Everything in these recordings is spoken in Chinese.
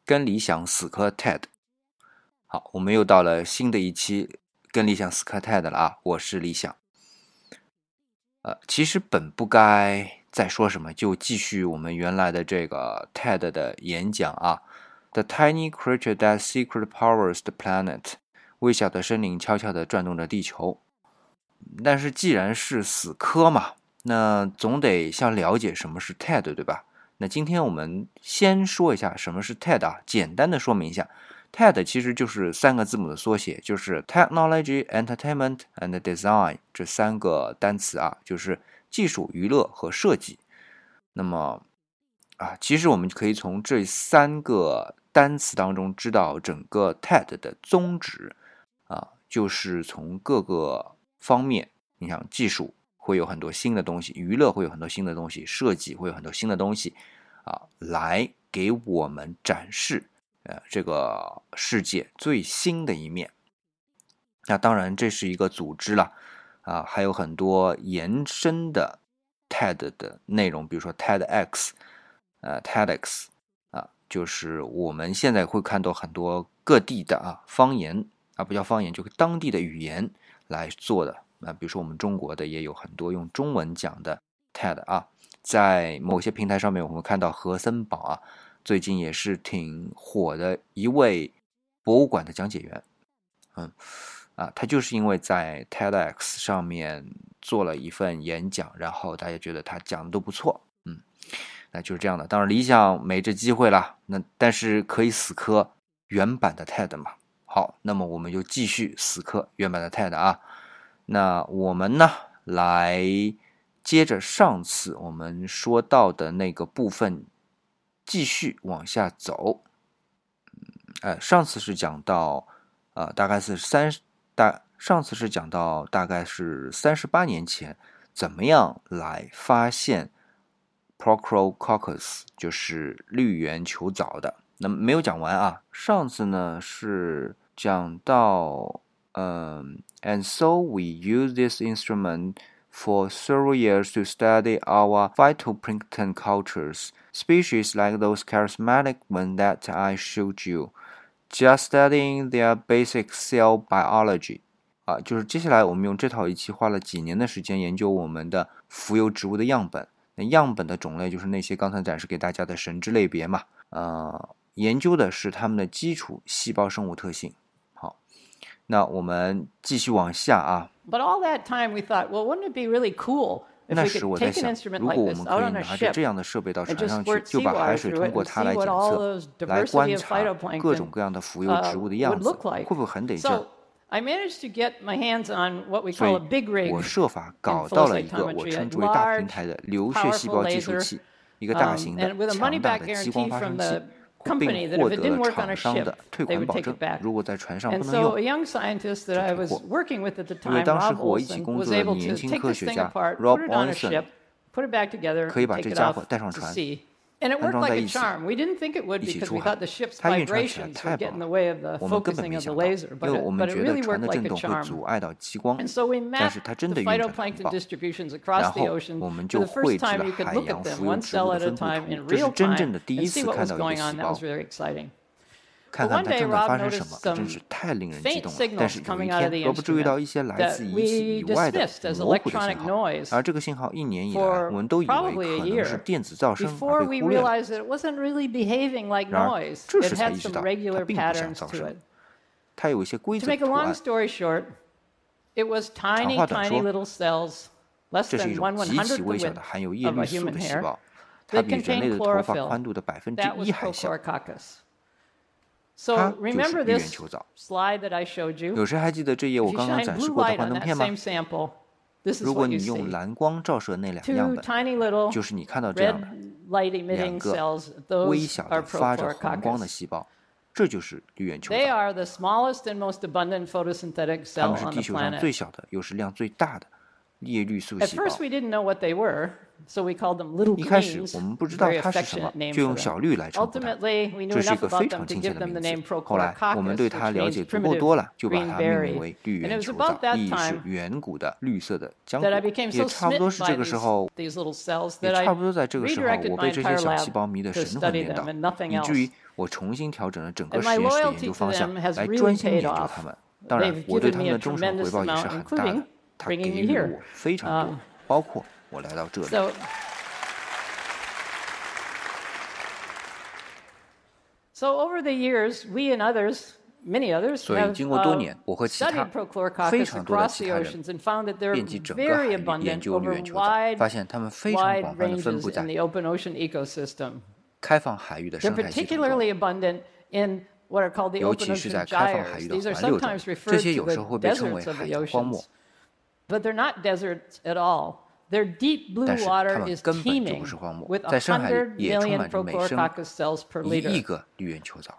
跟理想死磕 TED。 好，我们又到了新的一期跟理想死磕 TED 了啊！我是理想。其实本不该再说什么，就继续我们原来的这个 TED 的演讲啊。The tiny creature that secretly powers the planet， 微小的生灵悄悄地转动着地球。但是既然是死磕嘛，那总得先了解什么是 TED， 对吧？那今天我们先说一下什么是 TED 啊，简单的说明一下。TED 其实就是3个字母的缩写，就是 Technology, Entertainment and Design 这3个单词啊，就是技术、娱乐和设计。那么其实我们可以从这3个单词当中知道整个 TED 的宗旨就是从各个方面，你想技术会有很多新的东西，娱乐会有很多新的东西，设计会有很多新的东西来给我们展示这个世界最新的一面。那当然这是一个组织了还有很多延伸的 TED 的内容，比如说 TEDx TEDx就是我们现在会看到很多各地的方言不叫方言，就是当地的语言来做的比如说我们中国的也有很多用中文讲的 TED 在某些平台上面我们看到何森堡最近也是挺火的一位博物馆的讲解员他就是因为在 TEDx 上面做了一份演讲，然后大家觉得他讲的都不错那就是这样的。当然理想没这机会了，但是可以死磕原版的 TED 嘛。好，那么我们就继续死磕原版的 TED 那我们呢来接着上次我们说到的那个部分继续往下走。上次是讲到上次是讲到大概是38年前怎么样来发现 Prochlorococcus 就是绿原球藻的。那么没有讲完上次呢是讲到and so we use this instrument for several years to study our phytoplankton cultures, species like those charismatic ones that I showed you, just studying their basic cell biology. 就是接下来我们用这套仪器花了几年的时间研究我们的浮游植物的样本。那样本的种类就是那些刚才展示给大家的神之类别嘛。研究的是它们的基础细胞生物特性。好，那我们继续往下 But all that time we thought, well, wouldn't it be really cool if we could take an instrument like this out on a ship and just squirt seawater through it and see what all those diversity of phytoplankton would look like? 会不会很得劲 ？I managed to get my hands on what we call a big rig 我设法搞到了一个我称之为大平台的流血细胞计数器，一个大型的强大的激光发生器，并获得了厂商的退款保证，如果在船上不能用就退货。因为当时和我一起工作的年轻科学家 Rob Olson 可以把这家伙带上船 And it worked like a charm. We didn't think it would because we thought the ship's vibrations would get in the way of the focusing of the laser, but it really worked like a charm. And so we mapped the phytoplankton distributions across the ocean for the first time you could look at them one cell at a time in real time and see what was going on. That was very exciting. 看看它正在发生什么，真是太令人激动了。但是有一天，Rob注意到一些来自仪器以外的模糊的信号，而这个信号1年以来我们都以为可能是电子噪声而被忽略了。然而这时才意识到它并不像噪声，它有一些规则的图案。长话短说，这是一种极其微小的含有叶绿素的细胞，它比人类的头发宽度的1%还小。它就是绿原球藻。有谁还记得这页我刚刚展示过的幻灯片吗？如果你用蓝光照射那2个样本，就是你看到这样的2个微小的发着红光的细胞，这就是绿原球藻。它们是地球上最小的，又是量最大的叶绿素细胞。 一开始我们不知道它是什么，就用小绿来称呼它，这是一个非常亲切的名字。后来我们对它了解足够多了，就把它命名为绿圆球藻，意义是远古的绿色的浆果。也差不多是这个时候，我被这些小细胞迷得神魂颠倒，以至于我重新调整了整个实验室的研究方向，来专心研究它们。当然，我对他们的忠诚回报也是很大的，它给予我非常多，包括我来到这里。所以经过多年，我和其他非常多的其他人遍及整个海域研究绿圆球藻，发现它们非常广泛地分布在开放海域的生态系统中，尤其是在开放海域的环流中，这些有时候会被称为海洋荒漠。但是它们根本就不是荒漠，在深海里也充满着每生1亿个绿圆球藻。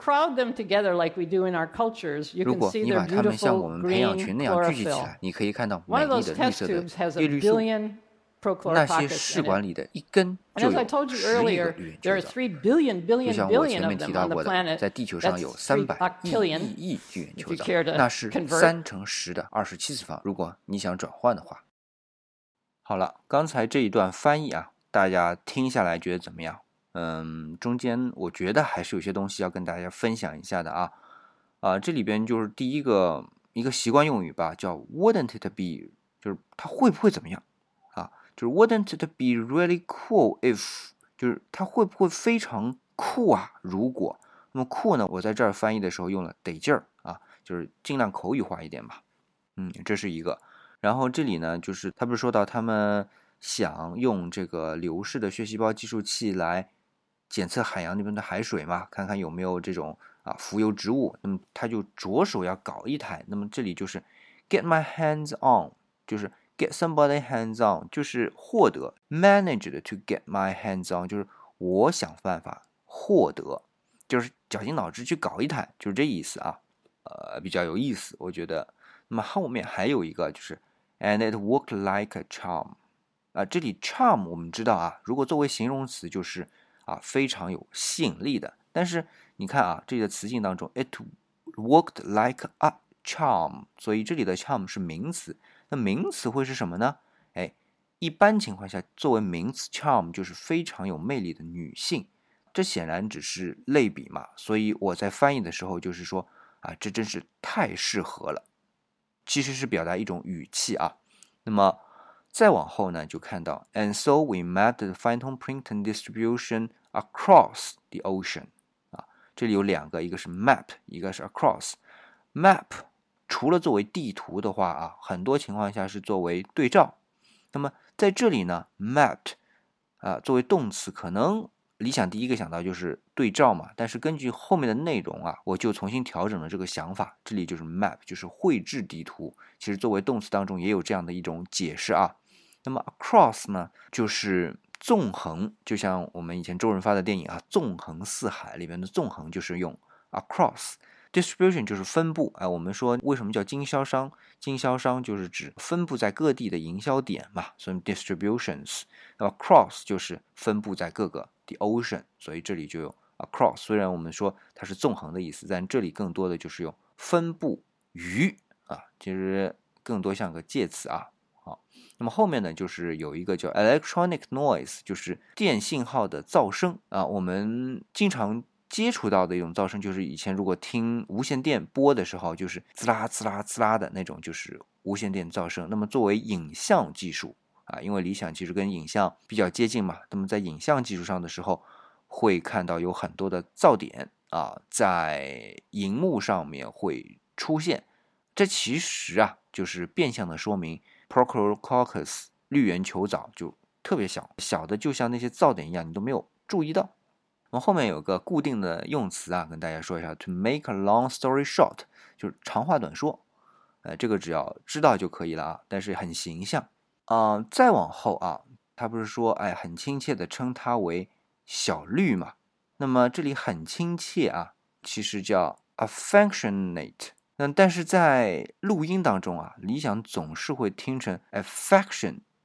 如果你把它们像我们培养群那样聚集起来，你可以看到美丽的绿色的叶绿素。那些试管里的一根就有10亿个绿圆球藻，就像我前面提到过的，在地球上有300亿绿圆球藻，那是3乘10的27次方。如果你想转换的话。好了，刚才这一段翻译啊，大家听下来觉得怎么样？中间我觉得还是有些东西要跟大家分享一下的啊。这里边就是第一个一个习惯用语吧，叫 wouldn't it be， 就是它会不会怎么样啊？就是 wouldn't it be really cool if， 就是它会不会非常酷啊？如果那么酷呢，我在这儿翻译的时候用了得劲儿啊，就是尽量口语化一点吧。这是一个。然后这里呢，就是他不是说到他们想用这个流式的血细胞计数器来检测海洋那边的海水嘛，看看有没有这种浮游植物。那么他就着手要搞一台。那么这里就是 get my hands on， 就是 get somebody hands on， 就是获得 managed to get my hands on， 就是我想办法获得，就是绞尽脑汁去搞一台，就是这意思啊。比较有意思，我觉得。那么后面还有一个就是 and it worked like a charm， 这里 charm 我们知道啊，如果作为形容词就是非常有吸引力的。但是你看啊，这里的词性当中 it worked like a charm， 所以这里的 charm 是名词。那名词会是什么呢？一般情况下作为名词 charm 就是非常有魅力的女性。这显然只是类比嘛，所以我在翻译的时候就是说这真是太适合了，其实是表达一种语气啊。那么再往后呢，就看到 and so we mapped the phytoplankton distribution across the ocean。这里有两个，一个是 map， 一个是 across。map 除了作为地图的话很多情况下是作为对照。那么在这里呢 mapped 作为动词，可能理想第一个想到就是对照嘛，但是根据后面的内容我就重新调整了这个想法。这里就是 map， 就是绘制地图，其实作为动词当中也有这样的一种解释那么 across 呢，就是纵横，就像我们以前周润发的电影纵横四海里面的纵横就是用 across。distribution 就是分布，我们说为什么叫经销商？经销商就是指分布在各地的营销点嘛，所以 distributions。那么 across 就是分布在各个 the ocean， 所以这里就有 across。虽然我们说它是纵横的意思，但这里更多的就是用分布于其实更多像个介词好，那么后面呢，就是有一个叫 electronic noise， 就是电信号的噪声我们经常接触到的一种噪声，就是以前如果听无线电播的时候，就是滋啦滋啦滋啦的那种，就是无线电噪声。那么作为影像技术因为理想其实跟影像比较接近嘛，那么在影像技术上的时候，会看到有很多的噪点在荧幕上面会出现。这其实就是变相的说明 Prochlorococcus 绿圆球藻就特别小，小的就像那些噪点一样，你都没有注意到。那么后面有个固定的用词跟大家说一下 to make a long story short， 就是长话短说。这个只要知道就可以了但是很形象。再往后他不是说很亲切的称它为小绿嘛？那么这里很亲切其实叫 affectionate。但是在录音当中理想总是会听成 affection，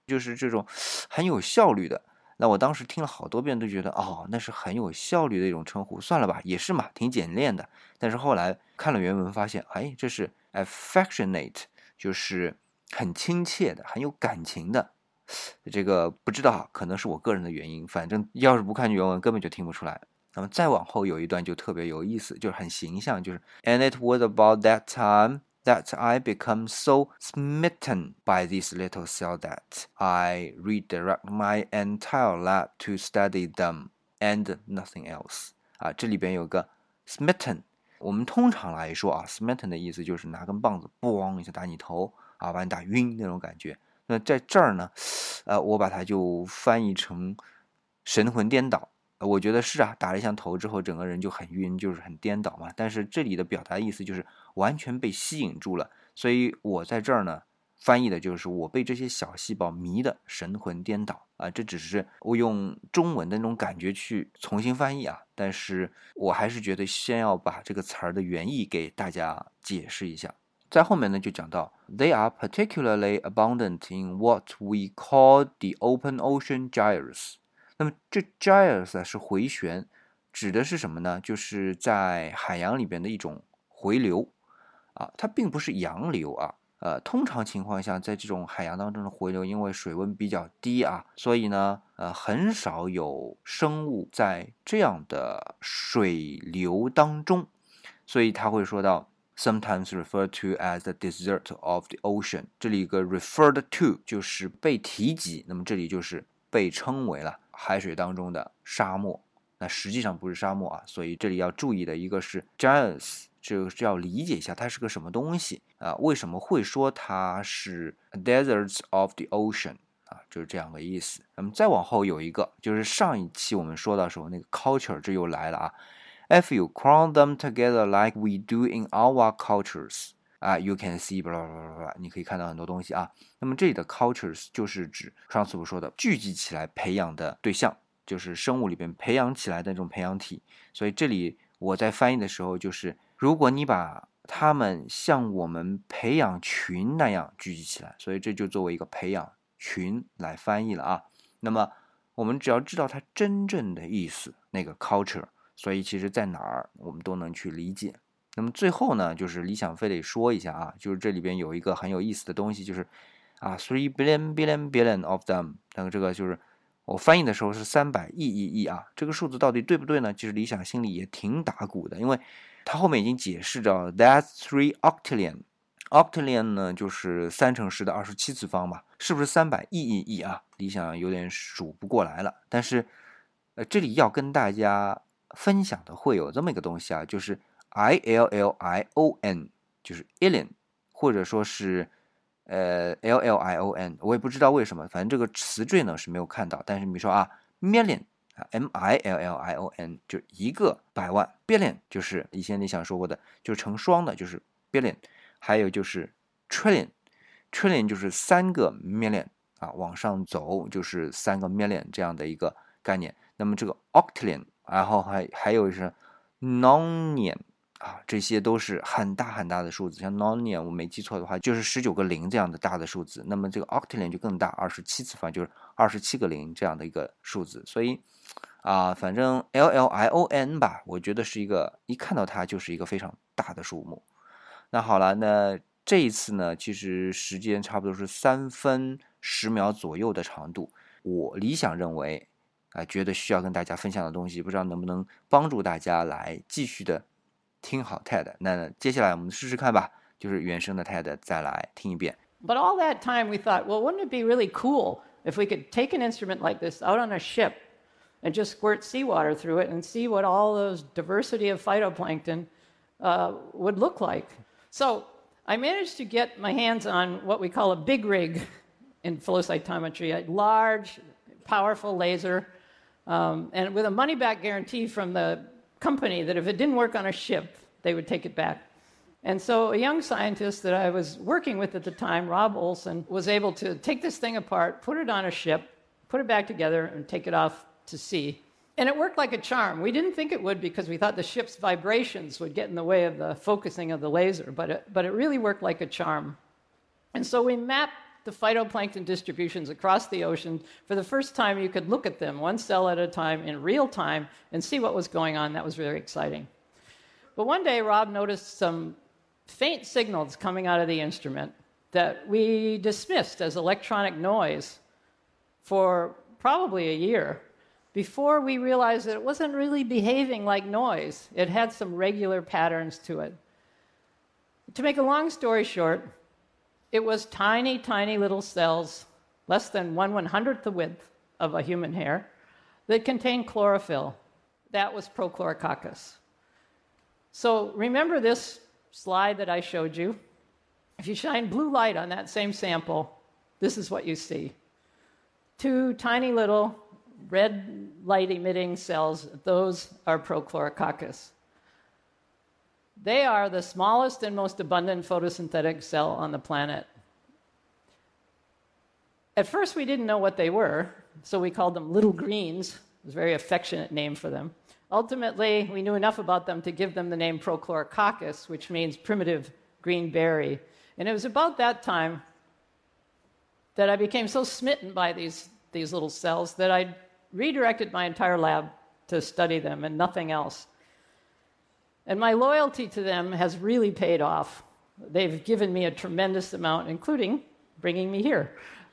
就是这种很有效率的。那我当时听了好多遍都觉得那是很有效率的一种称呼，算了吧，也是嘛，挺简练的。但是后来看了原文发现，这是 affectionate， 就是很亲切的，很有感情的。这个不知道，可能是我个人的原因，反正要是不看原文根本就听不出来。那么再往后有一段就特别有意思，就是很形象，就是 And it was about that time that I become so smitten by this little cell that I redirect my entire lab to study them and nothing else。这里边有个 smitten， 我们通常来说smitten 的意思就是拿根棒子咣一下打你头把你打晕那种感觉。那在这儿呢，我把它就翻译成神魂颠倒。我觉得是打了一下头之后整个人就很晕，就是很颠倒嘛。但是这里的表达意思就是完全被吸引住了，所以我在这儿呢翻译的就是我被这些小细胞迷的神魂颠倒这只是我用中文的那种感觉去重新翻译但是我还是觉得先要把这个词儿的原意给大家解释一下。在后面呢就讲到 They are particularly abundant in what we call the open ocean gyres。那么这 gyres 是回旋，指的是什么呢？就是在海洋里边的一种回流它并不是洋流通常情况下在这种海洋当中的回流，因为水温比较低所以呢很少有生物在这样的水流当中，所以他会说到Sometimes referred to as the desert of the ocean。 这里一个 referred to 就是被提及，那么这里就是被称为了海水当中的沙漠，那实际上不是沙漠所以这里要注意的一个是 gyres， 这是要理解一下它是个什么东西为什么会说它是 deserts of the ocean就是这样的意思。那么再往后有一个就是上一期我们说到时候那个 culture， 这又来了If you crowd them together like we do in our cultures you can see blah blah blah， 你可以看到很多东西那么这里的 cultures 就是指上次我说的聚集起来培养的对象，就是生物里边培养起来的这种培养体。所以这里我在翻译的时候就是如果你把它们像我们培养群那样聚集起来，所以这就作为一个培养群来翻译了那么我们只要知道它真正的意思，那个 culture，所以其实在哪儿我们都能去理解。那么最后呢就是理想非得说一下就是这里边有一个很有意思的东西，就是3 billion of them， 那么这个就是我翻译的时候是300亿这个数字到底对不对呢？其实理想心里也挺打鼓的，因为他后面已经解释着 that's 3 octillion。 octillion 呢就是3乘10的27次方嘛，是不是300亿理想有点数不过来了。但是这里要跟大家分享的会有这么一个东西就是 ILLION， 就是 illion， 或者说是LLION， 我也不知道为什么，反正这个词缀呢是没有看到。但是比如说million MILLION 就一个百万， billion 就是以前你想说过的就是成双的，就是 billion。 还有就是 trillion 就是3个 million往上走就是3个 million 这样的一个概念。那么这个 octillion， 然后还有是 nonion这些都是很大很大的数字，像 nonion 我没记错的话就是19个零这样的大的数字。那么这个 octillion 就更大，27次方就是27个零这样的一个数字。所以反正 LLION 吧，我觉得是一个一看到它就是一个非常大的数目。那好了，那这一次呢其实时间差不多是3分10秒左右的长度，我理想认为觉得需要跟大家分享的东西，不知道能不能帮助大家来继续的听好 TED。 那接下来我们试试看吧，就是原声的 TED 再来听一遍。 But all that time we thought, well, wouldn't it be really cool if we could take an instrument like this out on a ship and just squirt seawater through it and see what all those diversity of phytoplankton would look like. So I managed to get my hands on what we call a big rig in flow cytometry, a large, powerful laser, and with a money-back guarantee from the company that if it didn't work on a ship, they would take it back. And so a young scientist that I was working with at the time, Rob Olson, was able to take this thing apart, put it on a ship, put it back together, and take it off to sea. And it worked like a charm. We didn't think it would because we thought the ship's vibrations would get in the way of the focusing of the laser, but it really worked like a charm. And so we mapped the phytoplankton distributions across the ocean. For the first time, you could look at them one cell at a time in real time and see what was going on. That was very exciting. But one day, Rob noticed some faint signals coming out of the instrument that we dismissed as electronic noise for probably a year before we realized that it wasn't really behaving like noise. It had some regular patterns to it. To make a long story short, it was tiny, tiny little cells, less than 1/100th the width of a human hair, that contained chlorophyll. That was Prochlorococcus. So remember this slide that I showed you? If you shine blue light on that same sample, this is what you see. 2 tiny little red light-emitting cells, those are Prochlorococcus. They are the smallest and most abundant photosynthetic cell on the planet. At first, we didn't know what they were, so we called them little greens. It was a very affectionate name for them. Ultimately, we knew enough about them to give them the name Prochlorococcus, which means primitive green berry. And it was about that time that I became so smitten by these little cells that I redirected my entire lab to study them and nothing else. And my loyalty to them has really paid off. They've given me a tremendous amount, including bringing me here.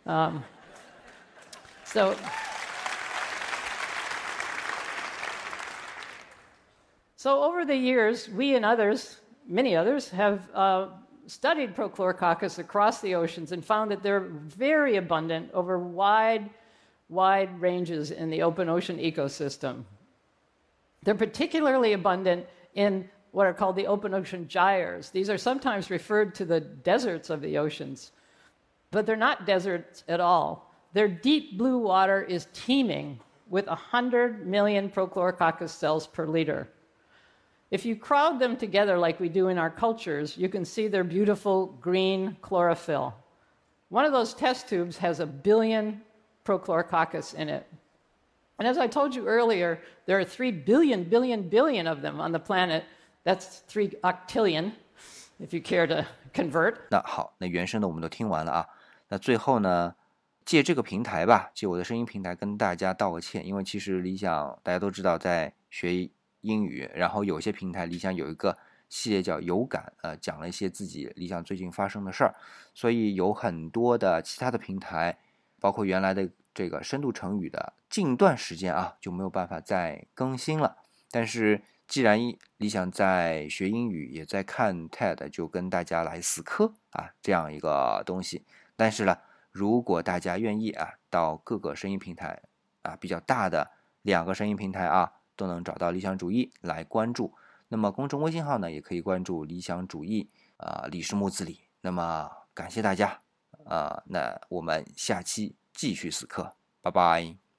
So over the years, we and others, many others, have studied Prochlorococcus across the oceans and found that they're very abundant over wide ranges in the open ocean ecosystem. They're particularly abundant in what are called the open ocean gyres. These are sometimes referred to the deserts of the oceans, but they're not deserts at all. Their deep blue water is teeming with 100 million Prochlorococcus cells per liter. If you crowd them together like we do in our cultures, you can see their beautiful green chlorophyll. One of those test tubes has 1 billion Prochlorococcus in it. And as I told you earlier, there are 3 billion of them on the planet. That's 3 octillion, if you care to convert. 那好，那原声的我们都听完了啊。那最后呢，借这个平台吧，借我的声音平台跟大家道个歉，因为其实理想大家都知道在学英语，然后有些平台理想有一个系列叫有感，讲了一些自己理想最近发生的事儿，所以有很多的其他的平台，包括原来的这个深度成语的近段时间啊就没有办法再更新了。但是既然理想在学英语也在看 TED， 就跟大家来死磕啊这样一个东西。但是呢，如果大家愿意啊，到各个声音平台啊比较大的2个声音平台啊都能找到理想主义来关注。那么公众微信号呢也可以关注理想主义李氏木子李。那么感谢大家那我们下期继续死磕，拜拜。